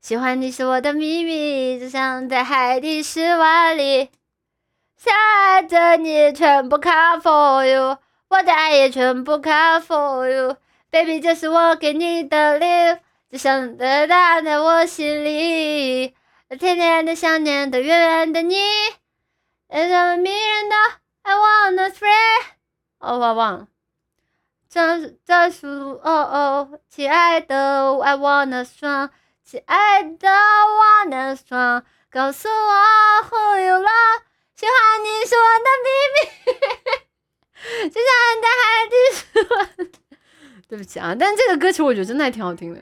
喜欢你是我的秘密，就像在海底10万里。想爱的你全部 come for you， 我的爱也全部 come for you。Baby， 这是我给你的礼物，只想得到在我心里。甜甜的想念的远远的你，这么迷人的 I wanna free。哦，我忘了。这是亲爱的 I wanna strong， 亲爱的 I wanna strong， 告诉我 who you love， 喜欢你是我的秘密，就像在海底10万。对不起啊，但这个歌曲我觉得真的还挺好听的。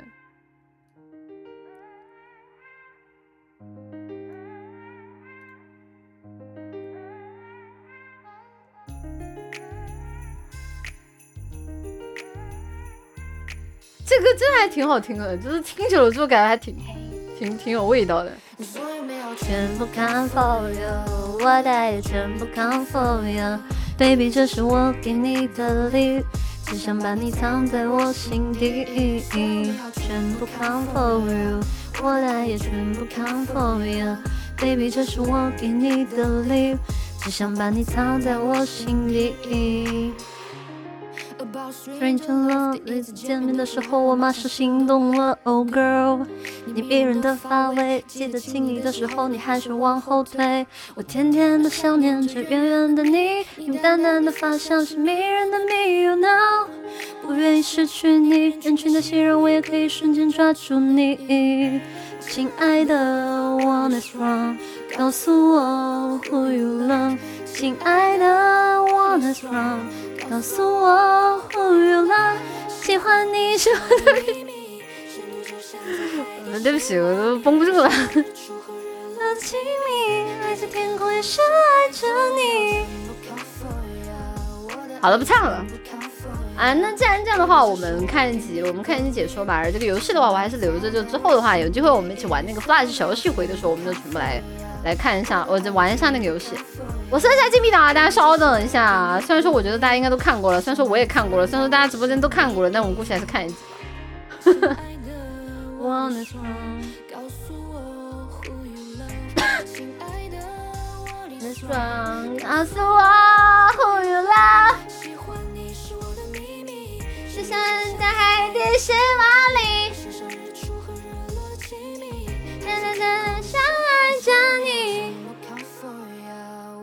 这歌真的还挺好听的，就是听久了之后感觉还挺有味道的。全部 come for you， 我的爱也全部 come for you。Baby， 这是我给你的礼物，只想把你藏在我心底。全部 come for you， 我的爱也全部 come for you。Baby， 这是我给你的礼物，只想把你藏在我心底。Strange love， 第一次见面的时候，我马上心动了。Oh girl， 你迷人的发尾，记得亲你的时候，你还是往后退。我甜甜的想念着远远的你，你淡淡的发香是迷人的谜 ，You know， 不愿意失去你，人群的熙攘我也可以瞬间抓住你。亲爱的 ，One is wrong， 告诉我 who you love。亲爱的 ，One is wrong。告诉我 who you love， 喜欢你是我的秘密。对不起，我都绷不住了。亲密，来自天空也深爱着你。好了，不唱了。啊，那既然这样的话，我们看一集解说吧。而这个游戏的话，我还是留着，就之后的话，有机会我们一起玩那个 Flash 小游戏回的时候，我们就全部来看一下，我就玩一下那个游戏。我设一下禁闭档啊，大家稍等一下。虽然说我觉得大家应该都看过了，虽然说我也看过了，虽然说大家直播间都看过了，但我们估计还是看一集。告诉我 who